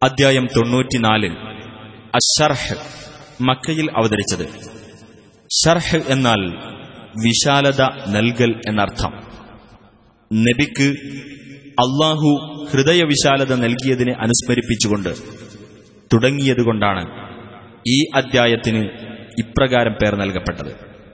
അദ്ധ്യായം 94 അശ്ശർഹ് മക്കയിൽ അവതരിച്ചത്. ശർഹ് എന്നാൽ വിശാലത നൽകൽ എന്നർത്ഥം. നബിക്ക് അല്ലാഹു ഹൃദയവിശാലത നൽകിയതിനെ അനുസ്മരിപ്പിച്ചുകൊണ്ട് തുടങ്ങിയതുകൊണ്ടാണ് ഈ അദ്ധ്യായത്തിന് ഇപ്രകാരം പേർ നൽകപ്പെട്ടത്.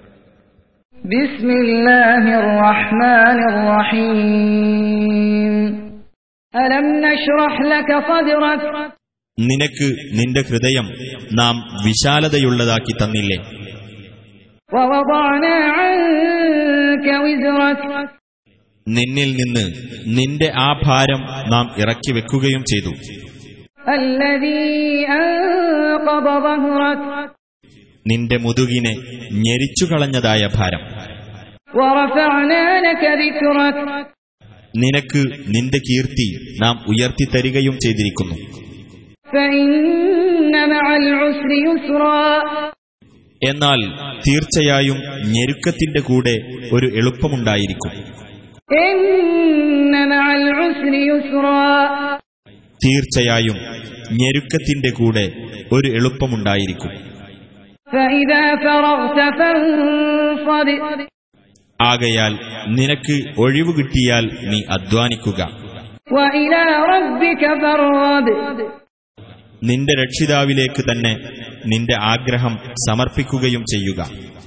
ബിസ്മില്ലാഹിർ റഹ്മാനിർ റഹീം. അലം നശ്റഹ് ലക സദ്റക. നിനക്ക് നിന്റെ ഹൃദയം നാം വിശാലതയുള്ളതാക്കി തന്നില്ലേ? വവദഅനാ അൻക വിസ്റക. നിന്നിൽ നിന്ന് നിന്റെ ആ ഭാരം നാം ഇറക്കി വെക്കുകയും ചെയ്തു. അല്ലദീ അൻഖദ ദഹ്റക. നിന്റെ മുതുകിനെ ഞെരിച്ചുകളഞ്ഞതായ ഭാരം. വറഫഅനാ ലക ദിക്റക. നിനക്ക് നിന്റെ കീർത്തി നാം ഉയർത്തിത്തരികയും ചെയ്തിരിക്കുന്നു. ഫഇന്ന മഅൽ ഉസ്രി യുസ്റാ. എന്നാൽ തീർച്ചയായും ഞെരുക്കത്തിന്റെ കൂടെ ഒരു എളുപ്പമുണ്ടായിരിക്കും. ഇന്ന മഅൽ ഉസ്രി യുസ്റാ. തീർച്ചയായും ഞെരുക്കത്തിന്റെ കൂടെ ഒരു എളുപ്പമുണ്ടായിരിക്കും. ഫഇദാ ഫറഗ്ത ഫൻസബ്. ആകയാൽ നിനക്ക് ഒഴിവ് കിട്ടിയാൽ നീ അധ്വാനിക്കുക. വഇലാ റബ്ബിക ഫർഗബ്. നിന്റെ രക്ഷിതാവിലേക്ക് തന്നെ നിന്റെ ആഗ്രഹം സമർപ്പിക്കുകയും ചെയ്യുക.